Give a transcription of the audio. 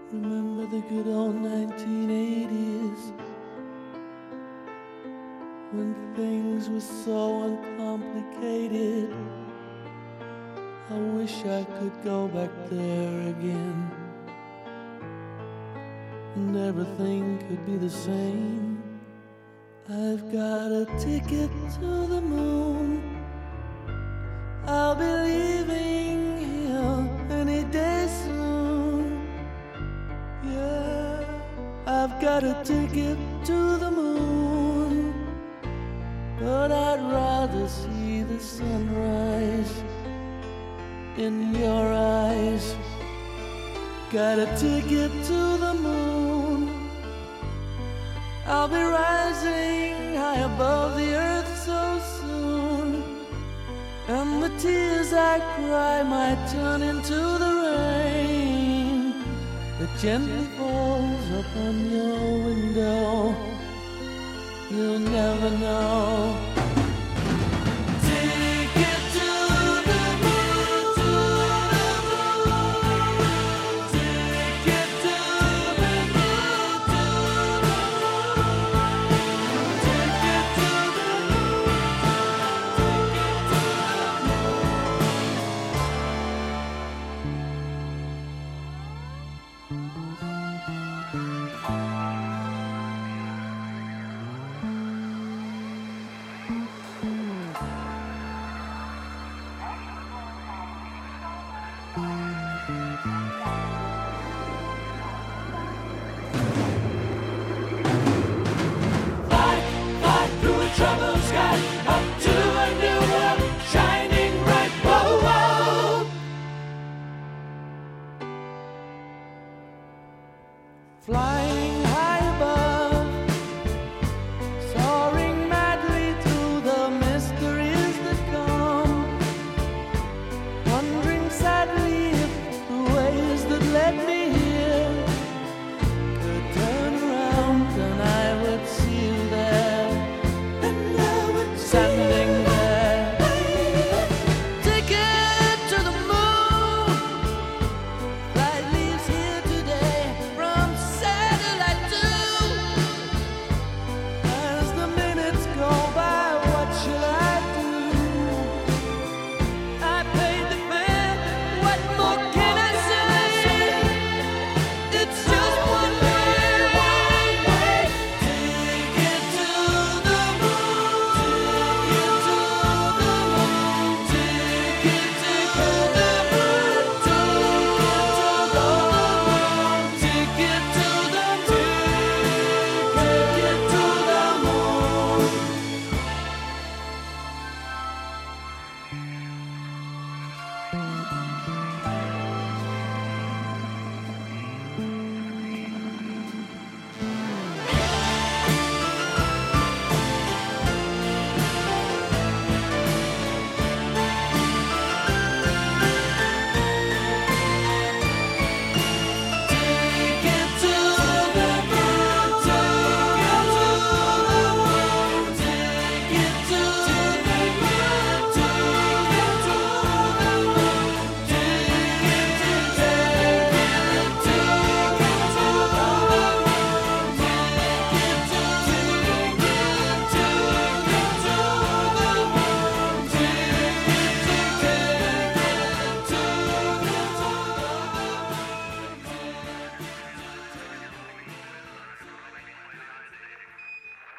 Remember the good old 1980s when things were so uncomplicated. I wish I could go back there again and everything could be the same. I've got a ticket to the moon. I'll be leaving here any day soon. Yeah, I've got a ticket to the moon, but I'd rather see the sunrise in your eyes. Got a ticket to the moon. I'll be rising high above the earth so soon, and the tears I cry might turn into the rain that gently falls upon your window. You'll never know. Ticket to the moon, to the moon. Ticket to the moon, to the moon. Ticket to the moon, ticket to the moon.